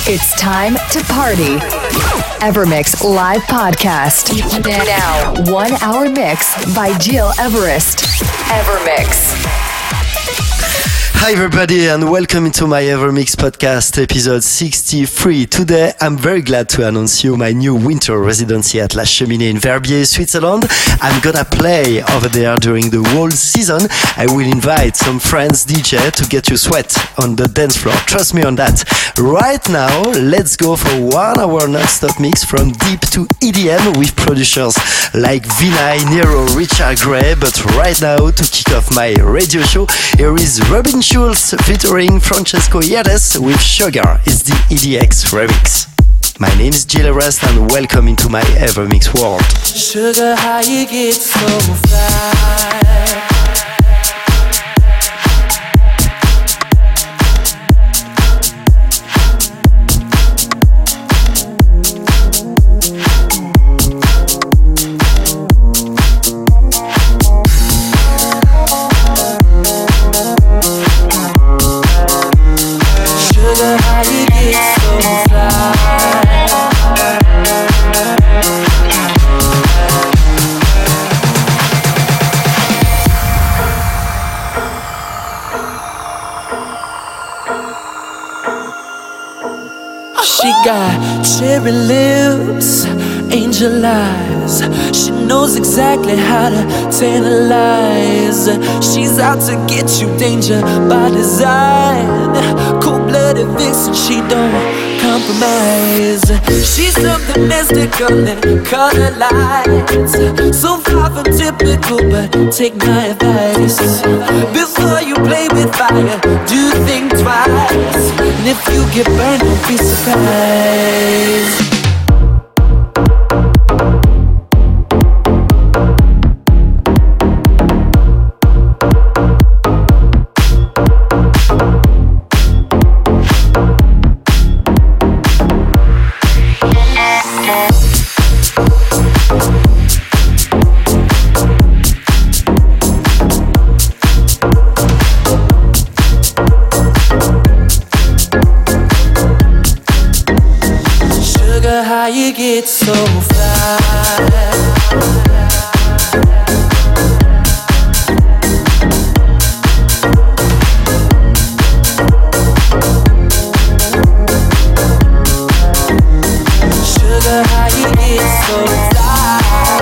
It's time to party. Evermix live podcast. Now, 1 hour mix by Gil Everest. Evermix. Hi everybody and welcome to my Evermix podcast episode 63. Today I'm very glad to announce you my new winter residency at La Cheminée in Verbier, Switzerland. I'm gonna play over there during the whole season. I will invite some friends DJ to get you sweat on the dance floor. Trust me on that. Right now, let's go for 1 hour non-stop mix from deep to EDM with producers like Vinay, Nero, Richard Gray. But right now, to kick off my radio show, here is Robin Schulz featuring Francesco Yades with Sugar. It's the EDX remix. My name is Gil Everest and welcome into my Evermix world. Sugar, how you get so fly? She got cherry lips, angel eyes. She knows exactly how to tantalize. She's out to get you, danger by design. Cold-blooded vixen, she don't compromise. She's something mystical and color lights. So far from typical, but take my advice. Before you play with fire, do think twice. And if you get burned, don't be surprised. How you get so fly? Sugar, how you get so fly?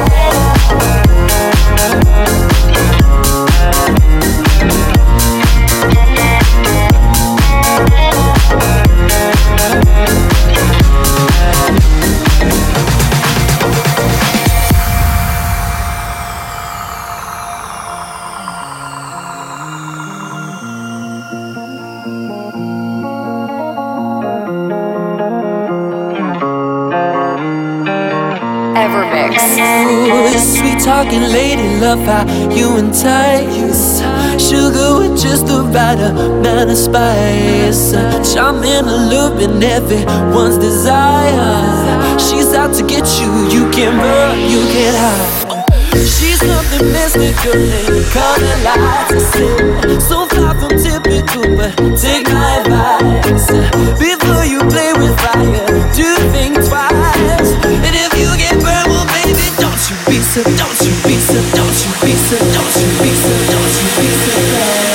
Ooh, sweet talking lady, love how you entice. Sugar with just the right amount of spice. Charming, alluring, everyone's desire. She's out to get you, you can run, you can hide. She's something mystical and color lights. So far from typical, but take my advice. Before you play with fire, do think twice. And if you get burned, well baby, don't you be so, don't you be so, don't you be so, don't you be so, don't you be so bad.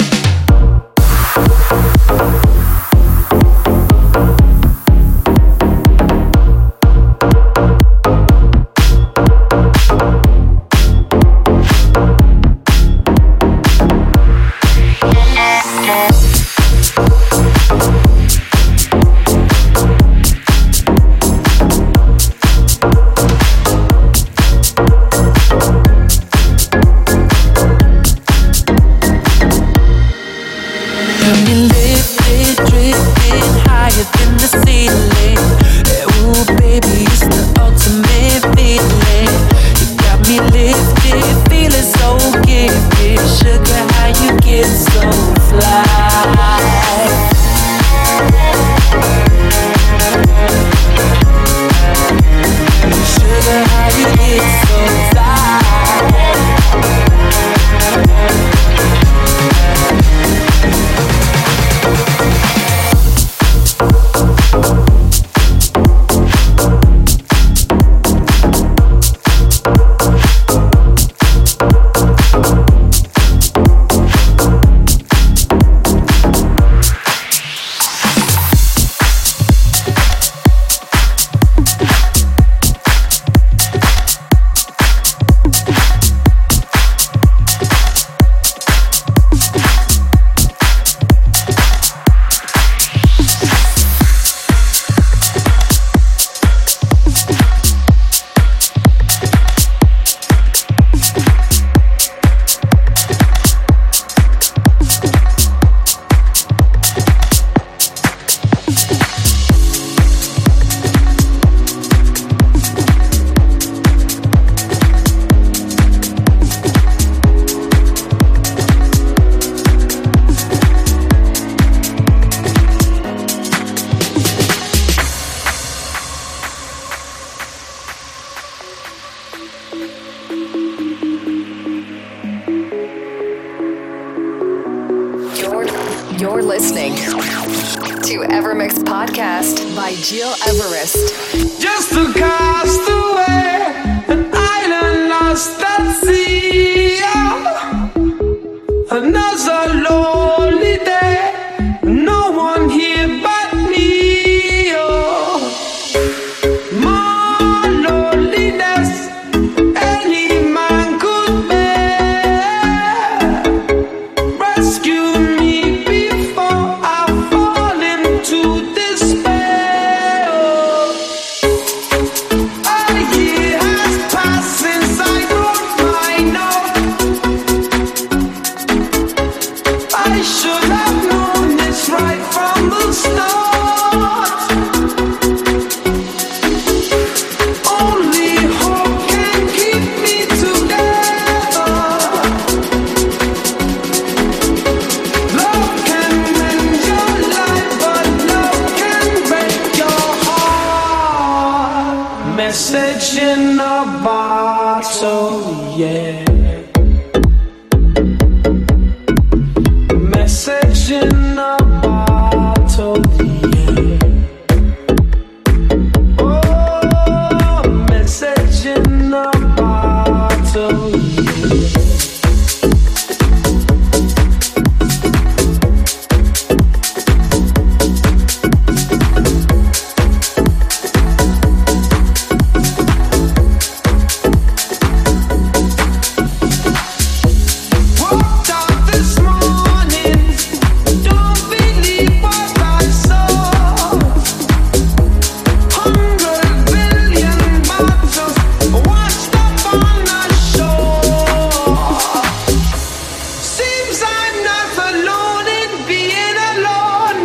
to Evermix Podcast by Gil Everest. Just to cast away an island lost at sea. Another lonely day, no one here but me. Oh, more loneliness any man could bear. Rescue me before I fall into despair. A year has passed since I wrote my note. I should have known this right from the start. Only hope can keep me together. Love can mend your life, but love can break your heart. Message in a bottle, yeah. Message in a bottle, yeah. Oh, message in a bottle, yeah. Walked out this morning, don't believe what I saw. 100 billion bottles washed up on the shore. Seems I'm not alone in being alone.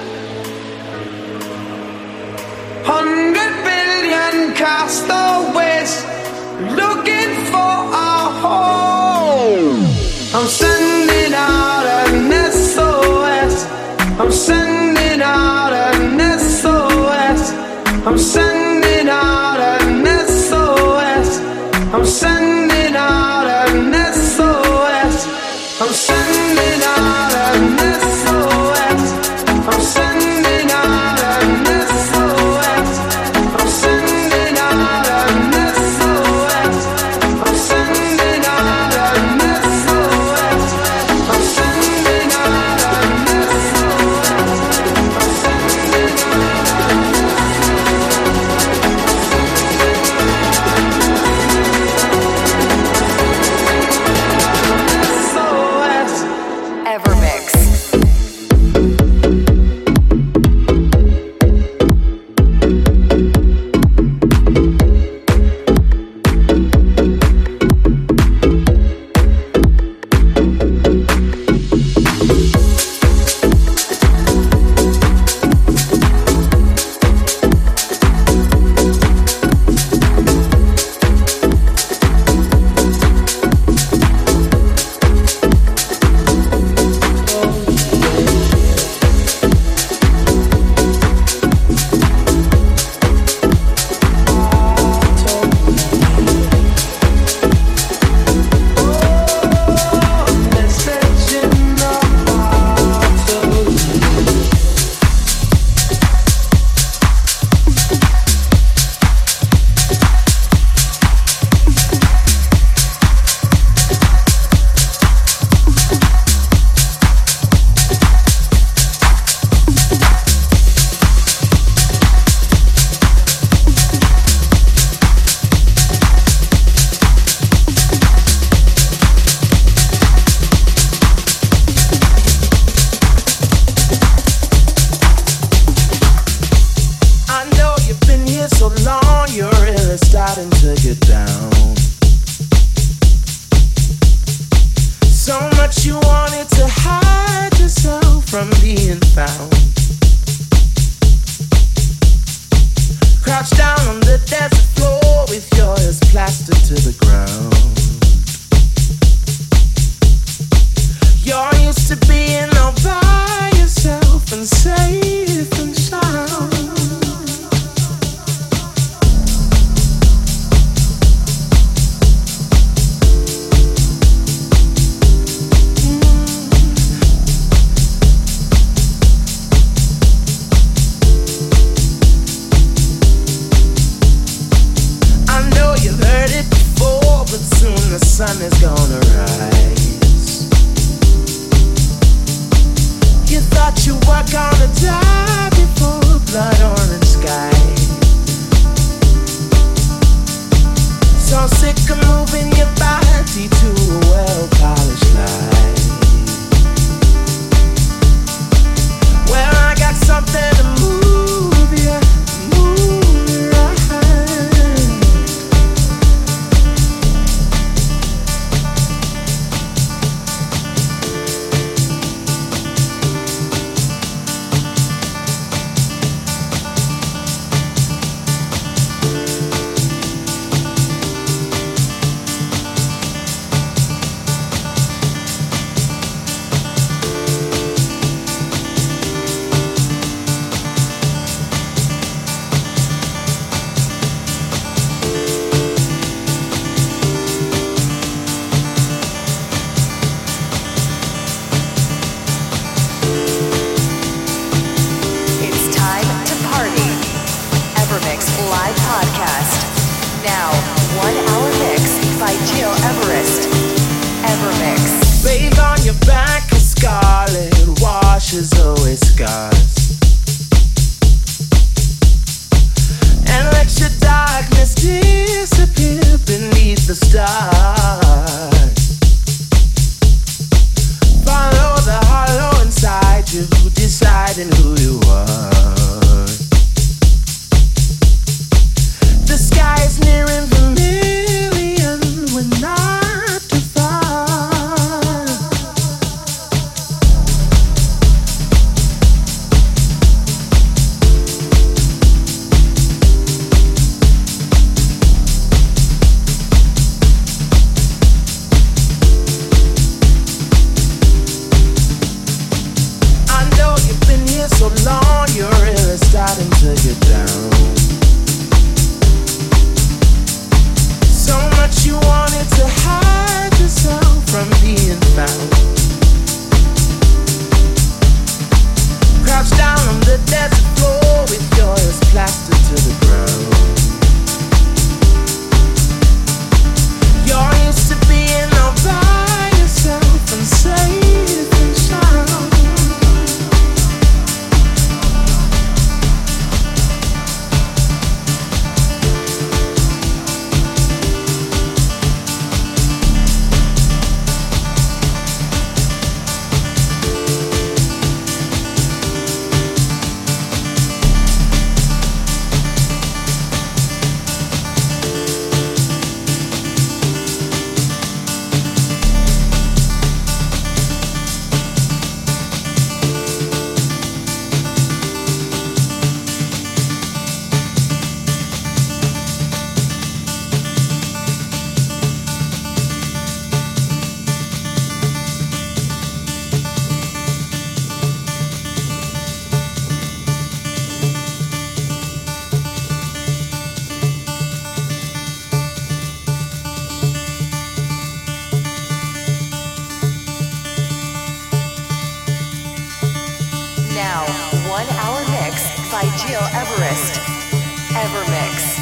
100 billion castaways looking for a home. I'm sending out an SOS. I'm sending out an SOS. I'm sending out an SOS. I'm sending out an SOS. I'm sending out an SOS. I'm sending out an SOS. I'm sending out an SOS. I'm sending out an SOS. I'm sending out an SOS. Evermix. ashes, always scars. And let your darkness disappear beneath the stars. Follow the hollow inside you, deciding who you are. The sky is near and familiar, we're not too far. I know you've been here so long, you're really starting to get down. So much you wanted to hide yourself from being found. Crouch down on the desert floor with your ears plastered to the ground. You're used to being all by yourself and safe and sound. Now, 1 hour mix by Gil Everest. Evermix.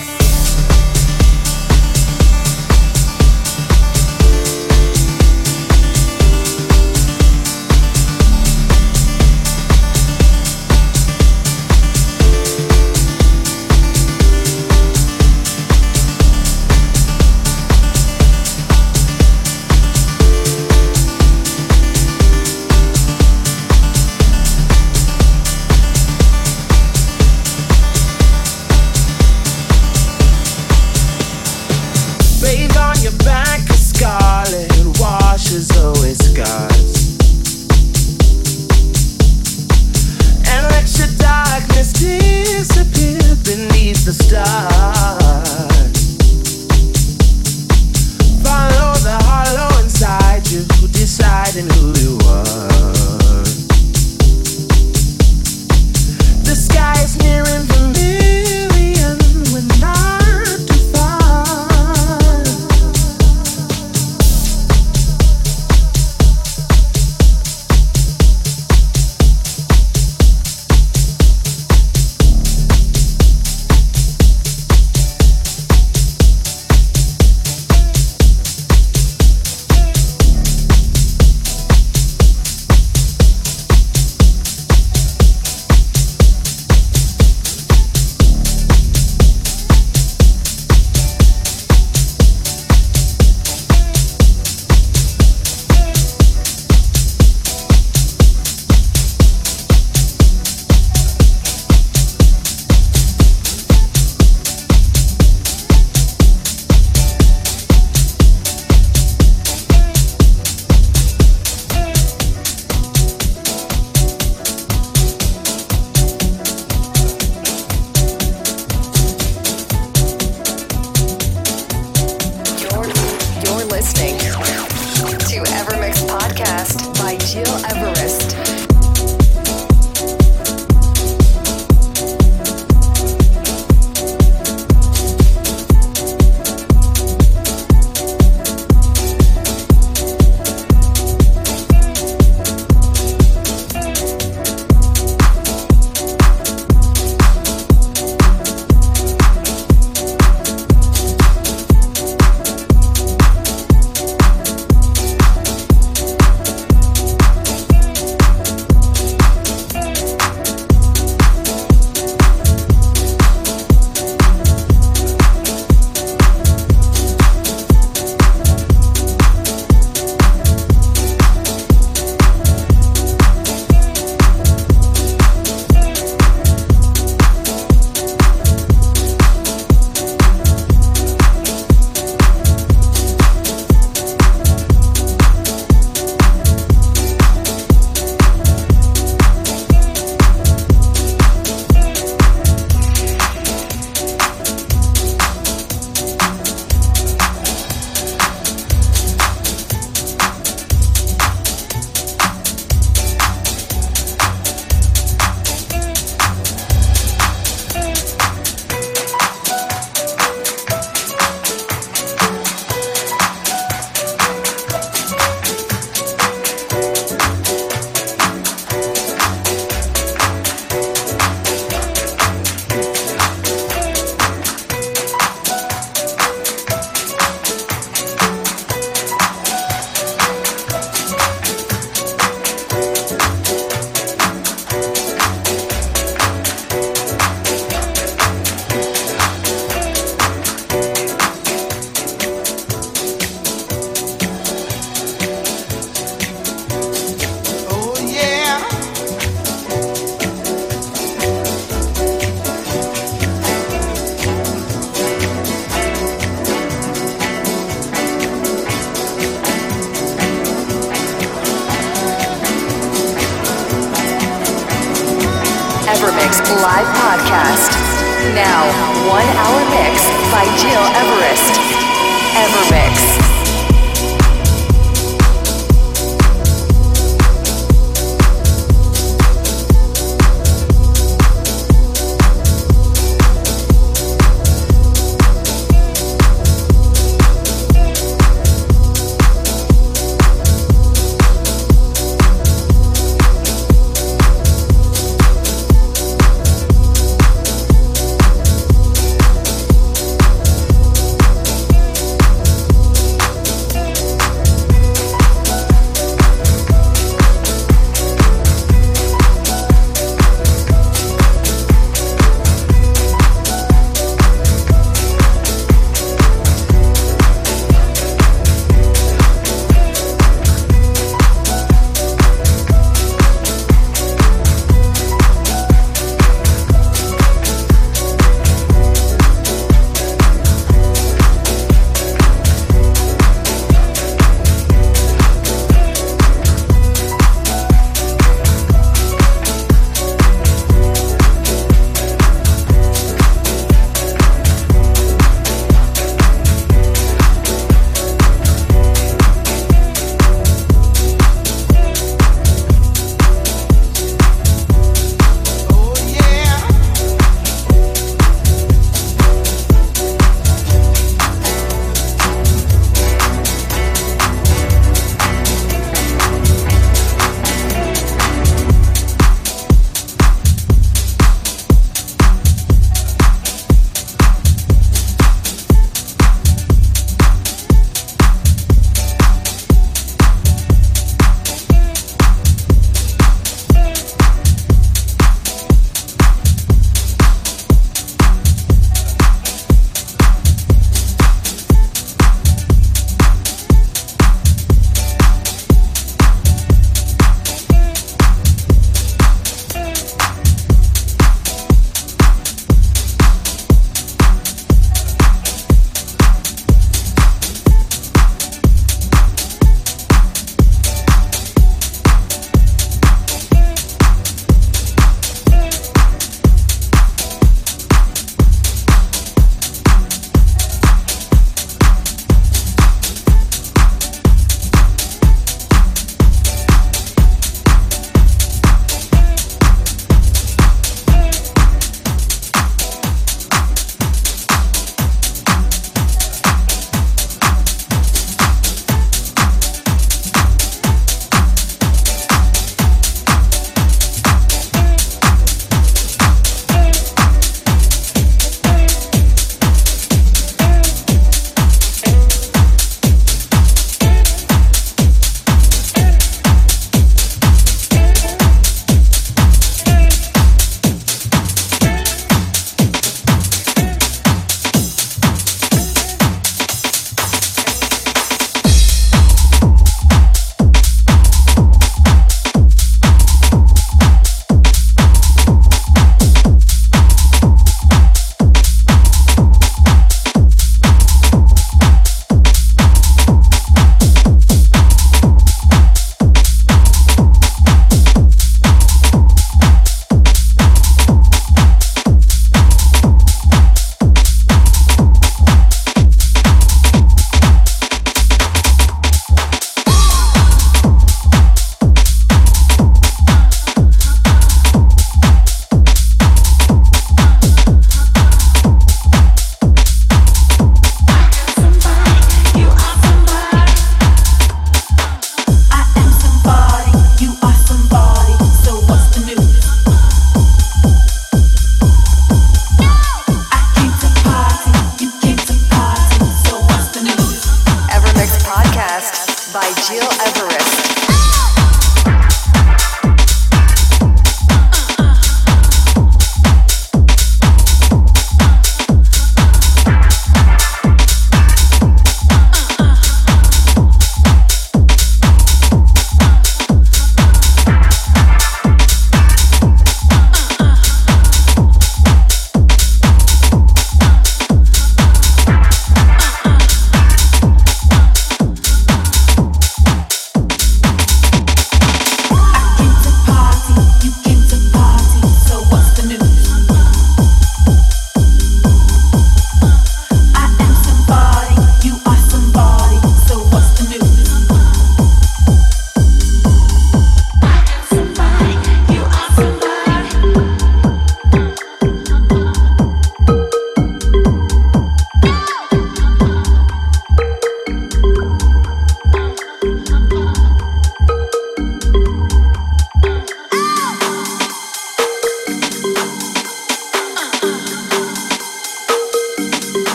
podcast. Now, 1 hour mix by Gil Everest. Evermix.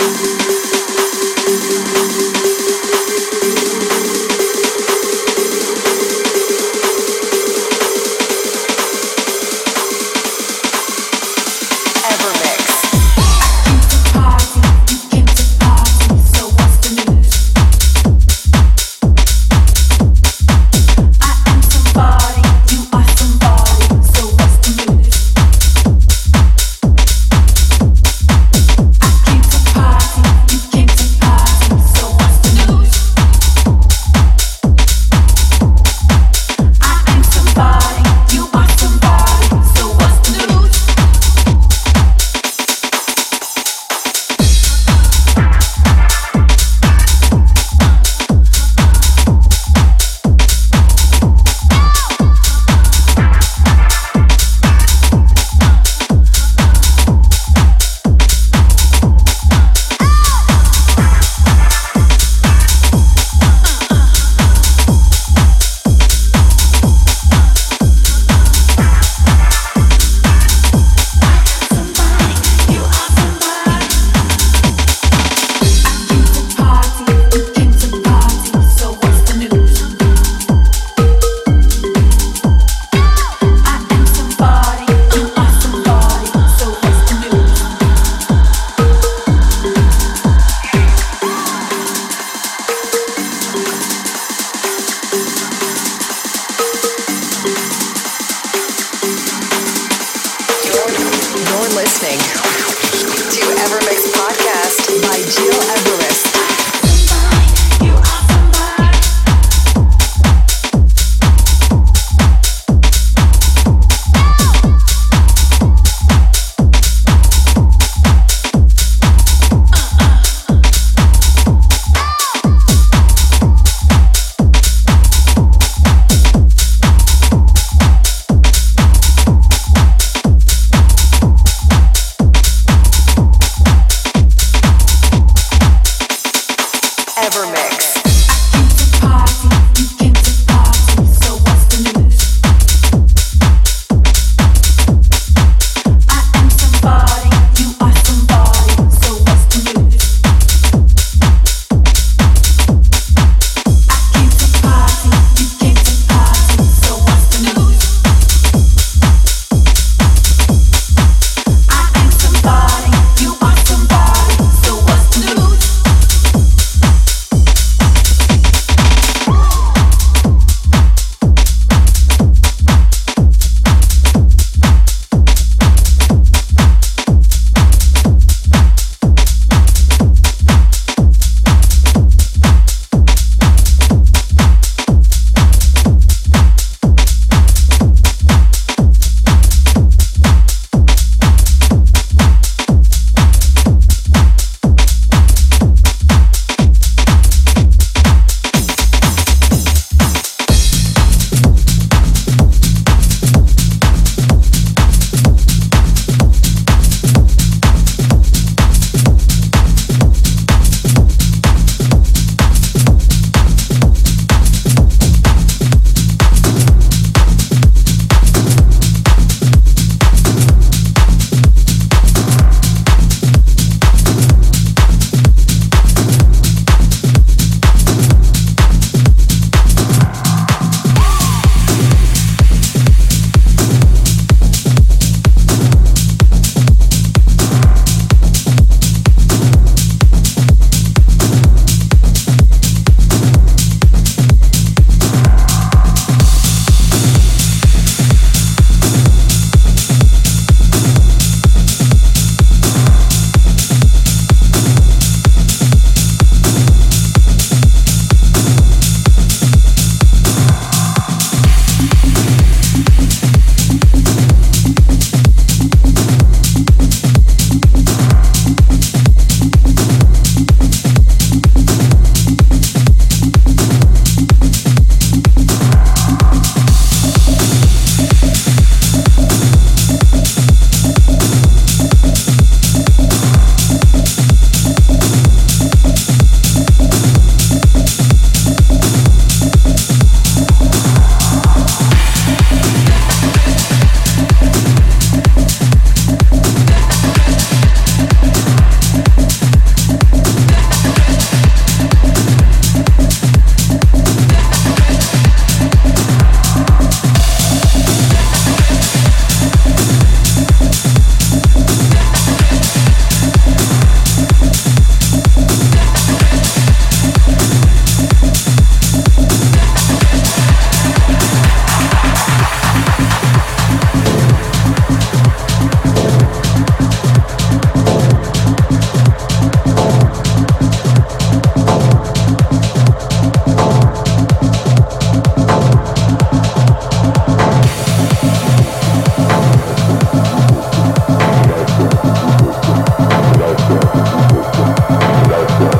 You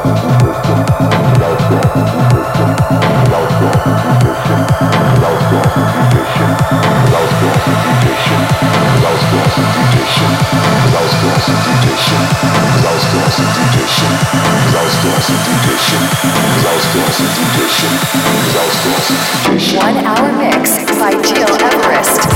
1 hour mix by Gil Everest.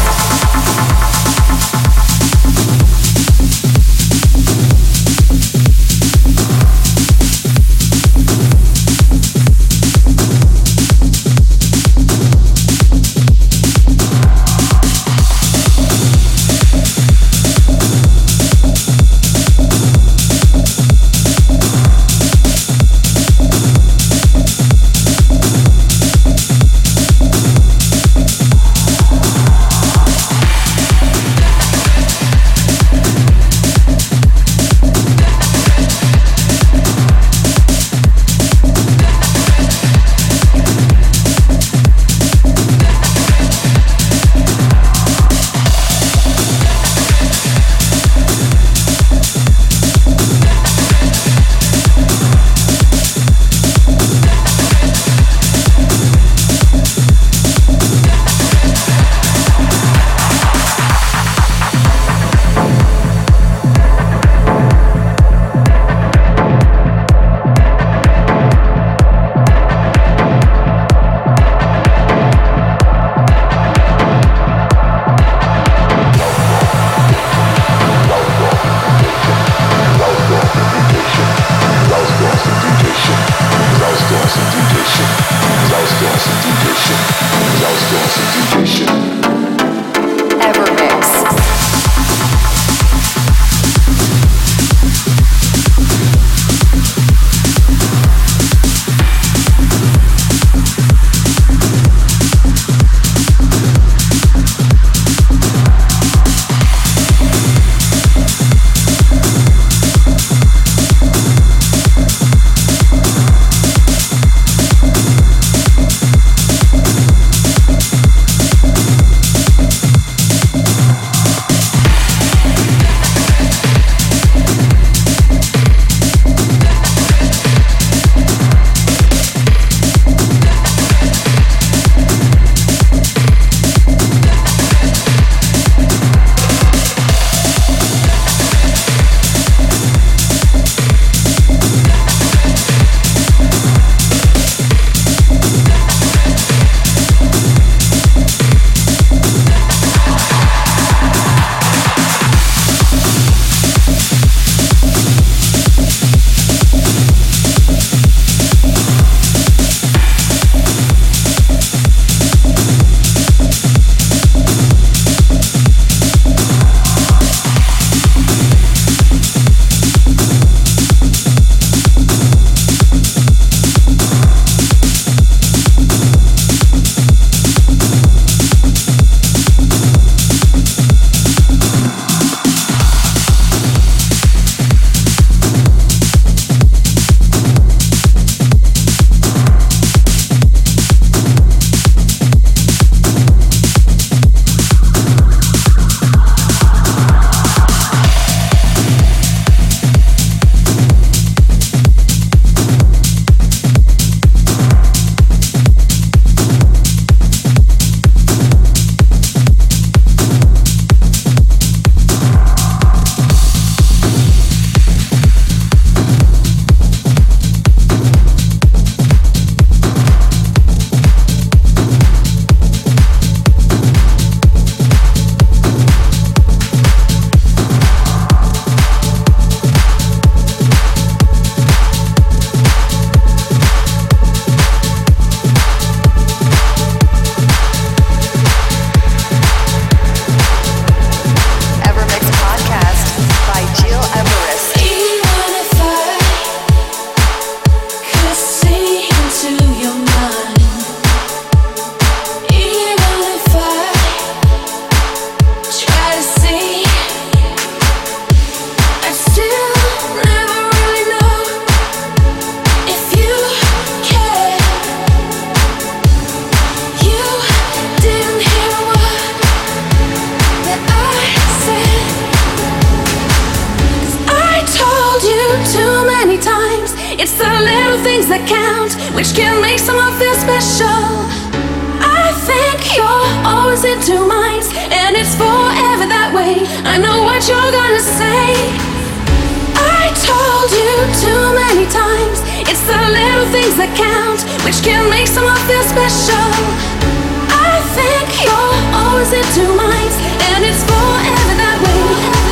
little things that count, which can make someone feel special. I think you're always in two minds, and it's forever that way. I know what you're gonna say. I told you too many times, it's the little things that count, which can make someone feel special. I think you're always in two minds, and it's forever that way.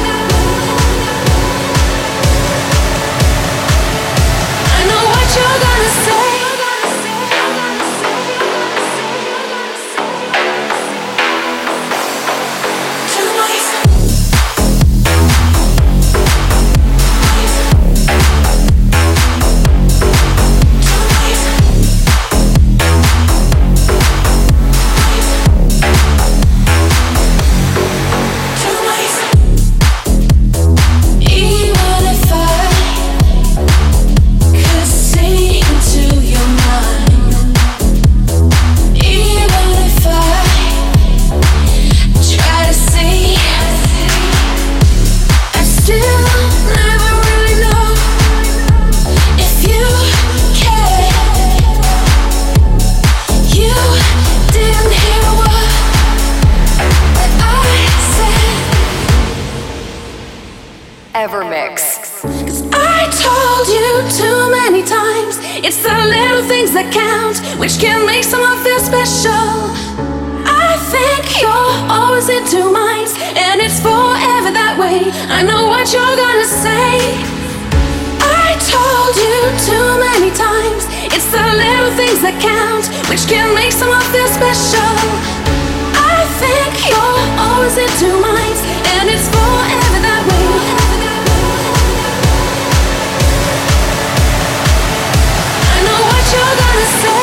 I know what you're gonna say. Evermix. I told you too many times, it's the little things that count, which can make someone feel special. I think you're always in two minds, and it's forever that way. I know what you're gonna say. I told you too many times, it's the little things that count, which can make someone feel special. I think you're always in two minds, and it's forever that way. You're gonna say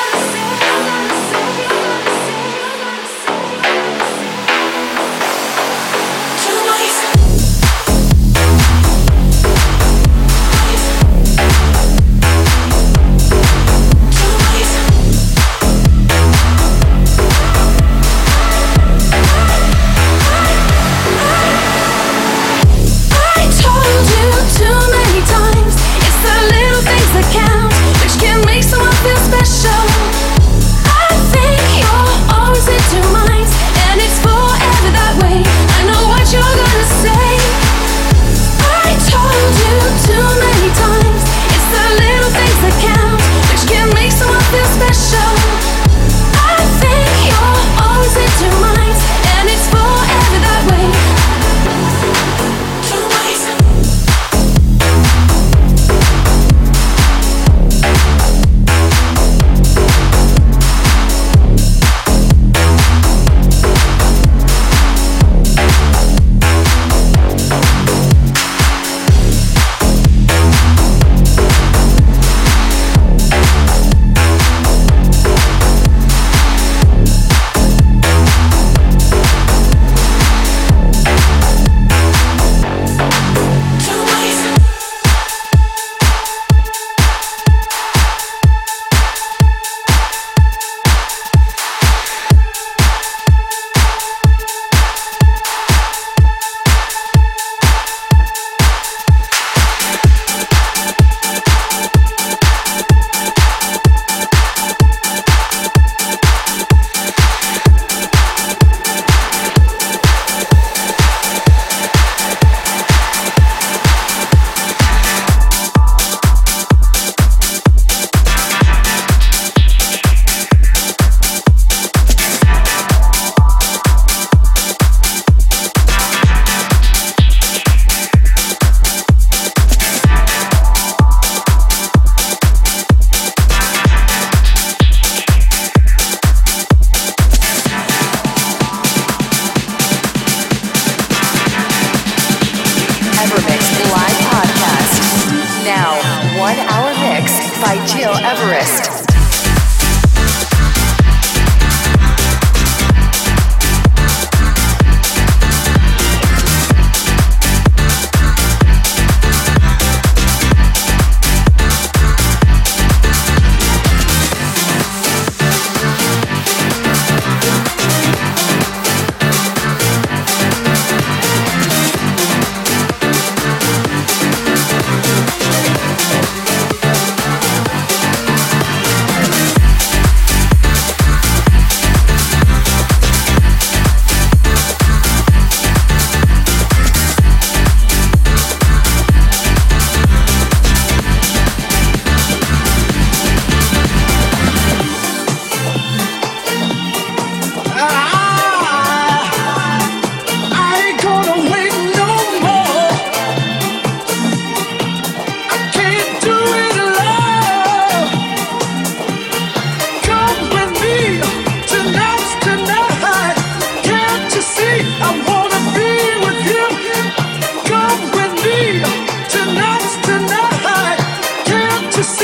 by Gil Everest.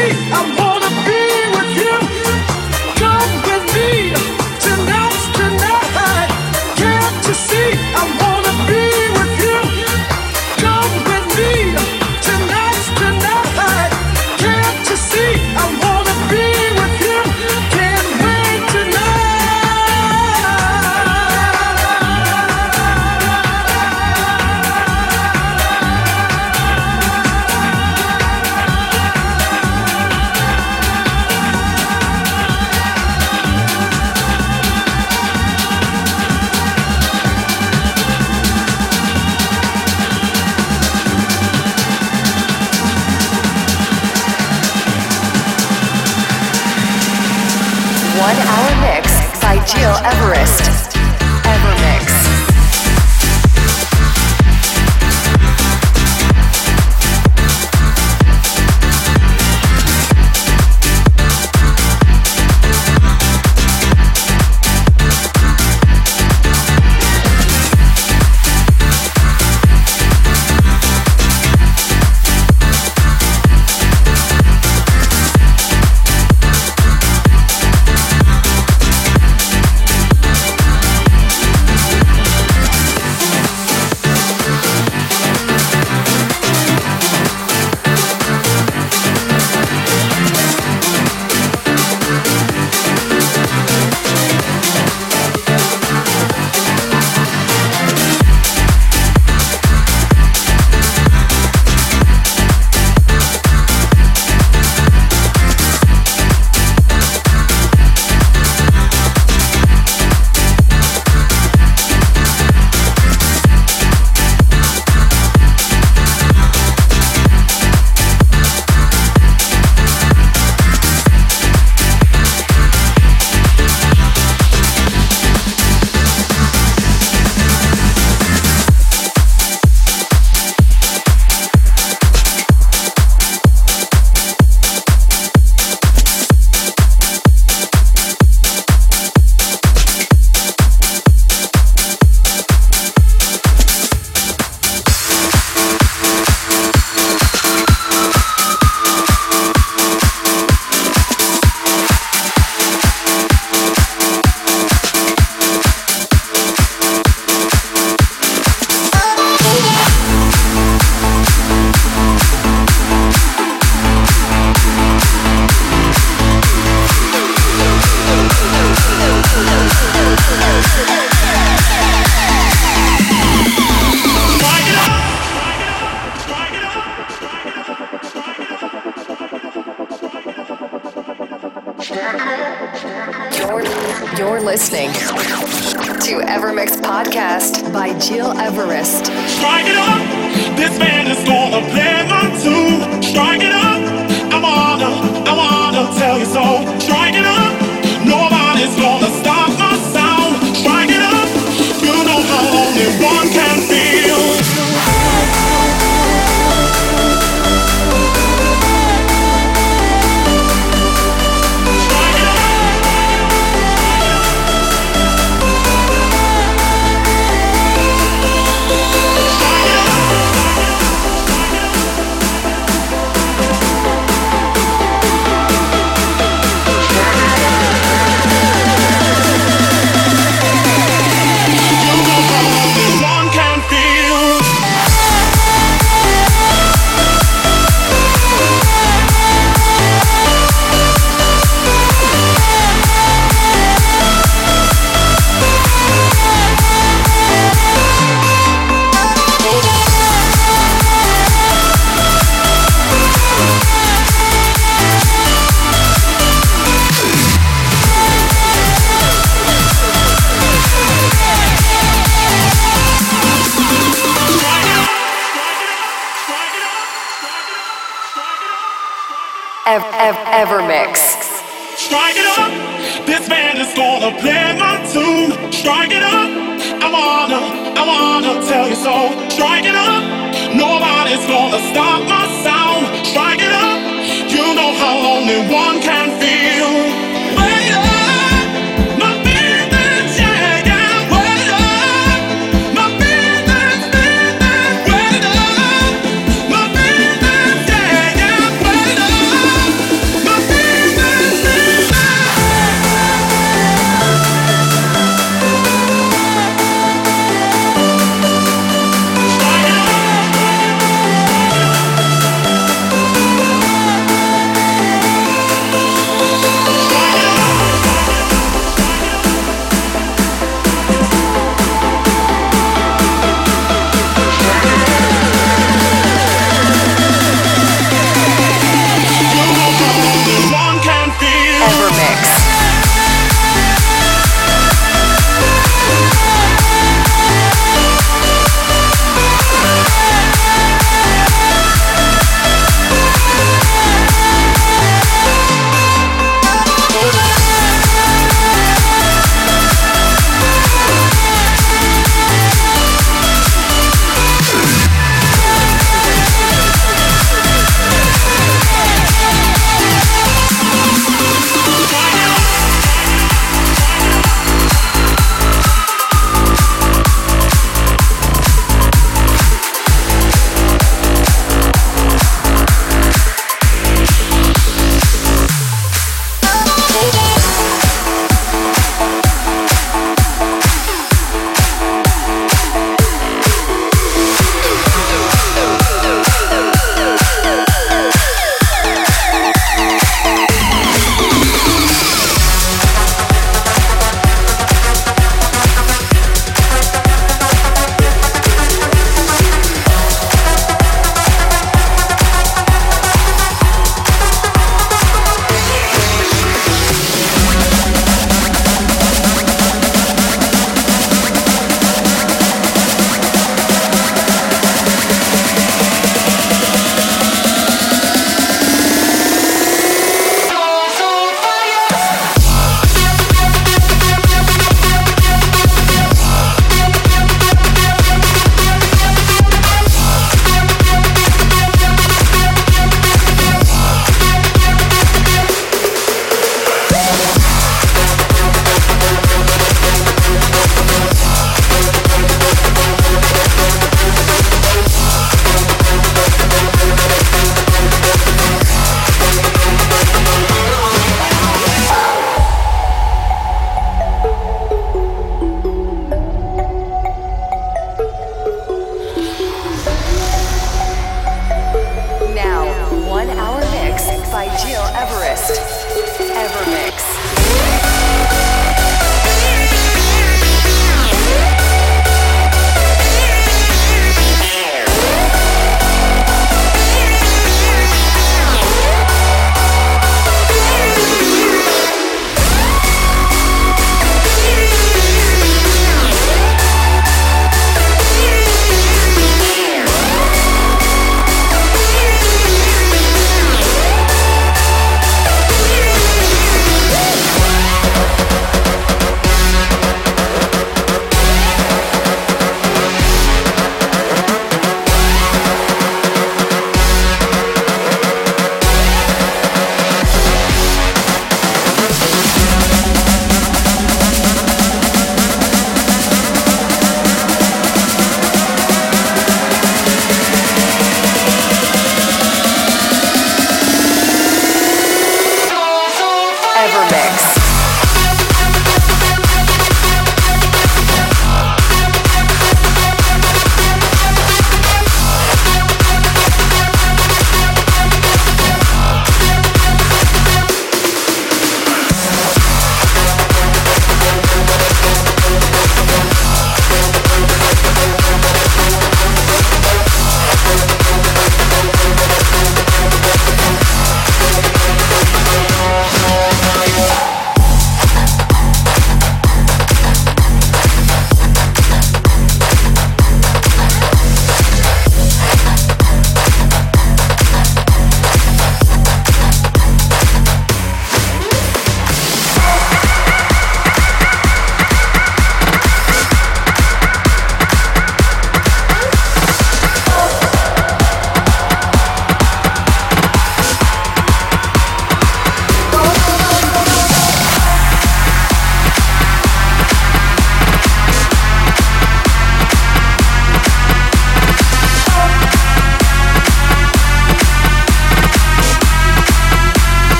Gil Everest. Evermix. You're listening to Evermix Podcast by Gil Everest. Strike it up, this band is gonna play my tune. Strike it up, I wanna tell you so. Strike it up, nobody's gonna stop my sound. Strike it up, you know how only one can feel. Evermix. Strike it up, this band is gonna play my tune. Strike it up, I wanna tell you so. Strike it up, nobody's gonna stop my sound. Strike it up, you know how only one can feel. Wait up, my feelings, yeah, yeah, wait up, my feelings, wait up, my feelings, yeah, yeah, wait up.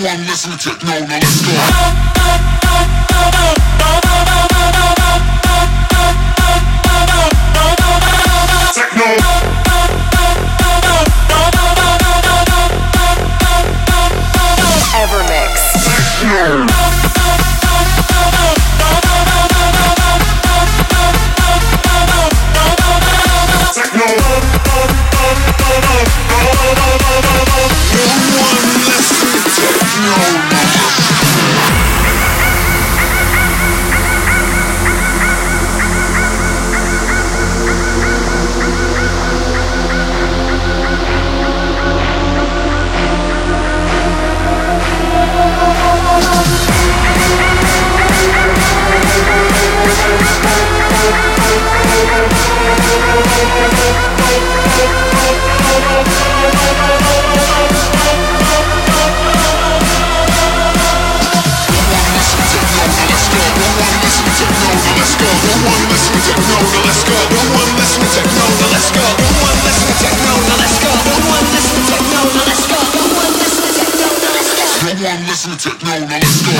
Everyone listen to techno, now let's go. Techno. Evermix. Techno. Listen to techno, now let's go.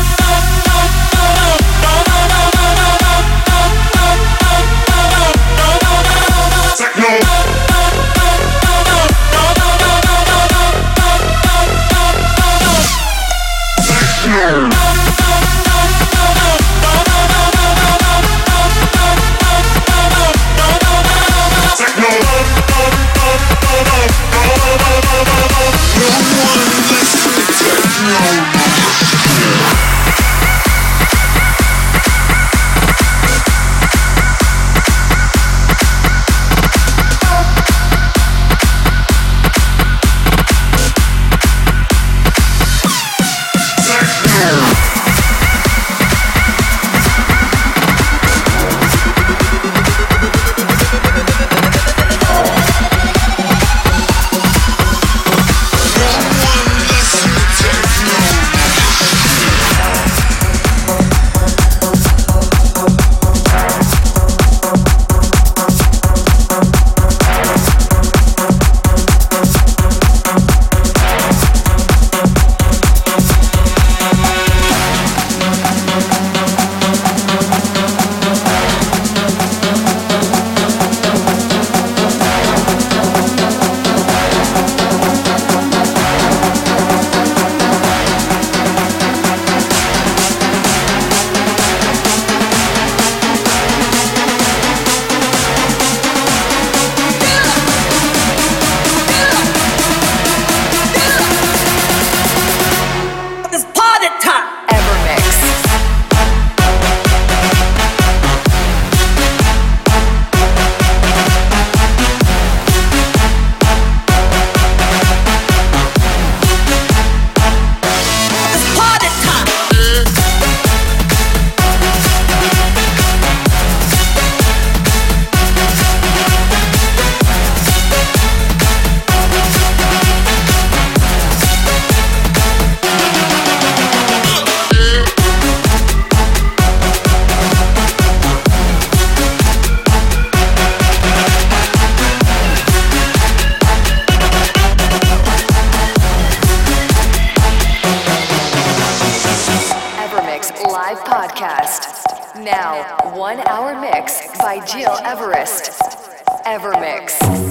Live podcast. Now, 1 hour mix by Gil Everest. Evermix.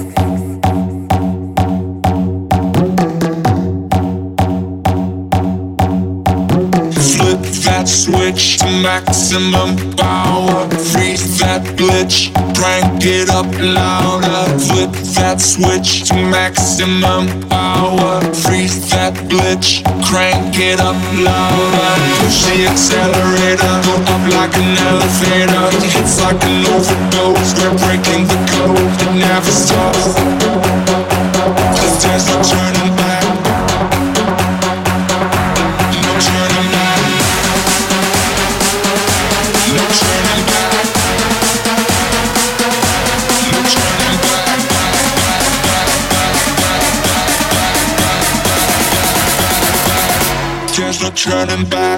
Flip that switch to maximum power. Freeze that glitch, crank it up louder. Flip that switch to maximum power. Freeze that glitch, crank it up louder. Push the accelerator, go up like an elevator. It's like an overdose, we're breaking the code. It never stops, 'cause there's no turning back. There's no turning back.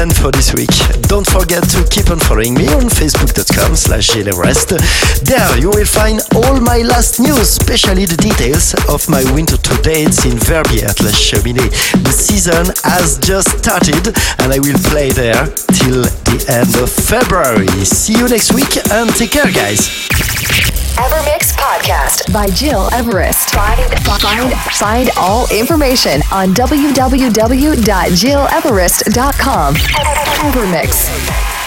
plan for this week. Don't forget to keep on following me on facebook.com/GilEverest. There you will find all my last news, especially the details of my winter tour dates in Verbier at La Cheminée. The season has just started and I will play there till the end of February. See you next week and take care, guys. Evermix Podcast by Gil Everest. Find all information on www.gileverest.com. Evermix.